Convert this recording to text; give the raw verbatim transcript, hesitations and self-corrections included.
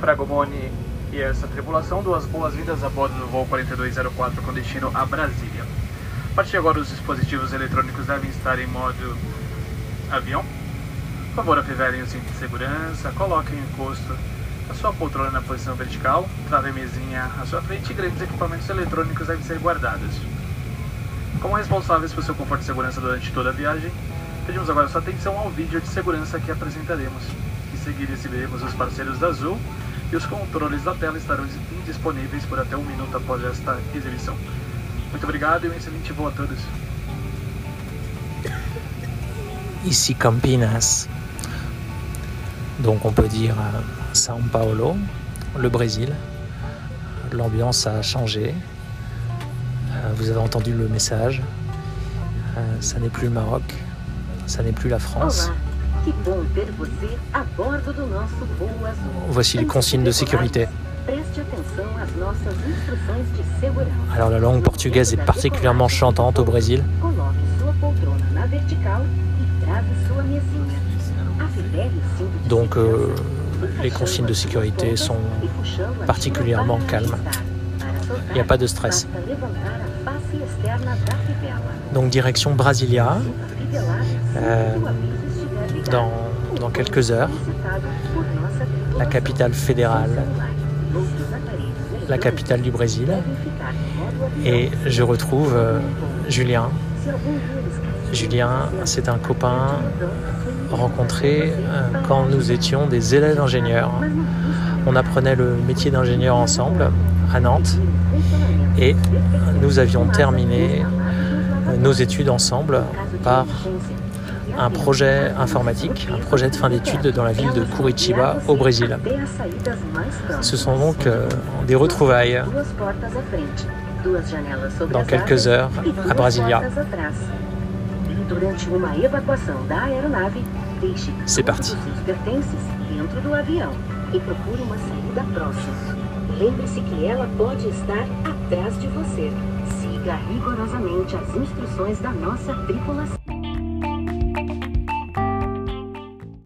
Fragomoni e essa tripulação, duas boas-vindas a bordo do voo quarenta e dois zero quatro com destino a Brasília. A partir de agora, os dispositivos eletrônicos devem estar em modo avião. Por favor, afivelem o cinto de segurança, coloquem o encosto a sua poltrona na posição vertical, trave a mesinha à sua frente e grandes equipamentos eletrônicos devem ser guardados. Como responsáveis por seu conforto e segurança durante toda a viagem, pedimos agora sua atenção ao vídeo de segurança que apresentaremos. Em seguida, exibiremos os parceiros da Azul e os controles da tela estarão indisponíveis por até um minuto após esta exibição. Muito obrigado e um excelente voo a todos. Ici Campinas, donc on peut dire São Paulo, le Brésil. L'ambiance a changé. Vous avez entendu le message. Ça n'est plus le Maroc, ça n'est plus la France. Voici les consignes de sécurité. Alors la langue portugaise est particulièrement chantante au Brésil. Donc euh, les consignes de sécurité sont particulièrement calmes. Il n'y a pas de stress. Donc direction Brasilia, euh, dans, dans quelques heures, la capitale fédérale, la capitale du Brésil. Et je retrouve euh, Julien. Julien, c'est un copain rencontré euh, quand nous étions des élèves ingénieurs. On apprenait le métier d'ingénieur ensemble à Nantes et nous avions terminé nos études ensemble par un projet informatique, un projet de fin d'études dans la ville de Curitiba au Brésil. Ce sont donc euh, des retrouvailles dans quelques heures à Brasilia. C'est parti. E procure uma saída próxima. Lembre-se que ela pode estar atrás de você. Siga rigorosamente as instruções da nossa tripulação.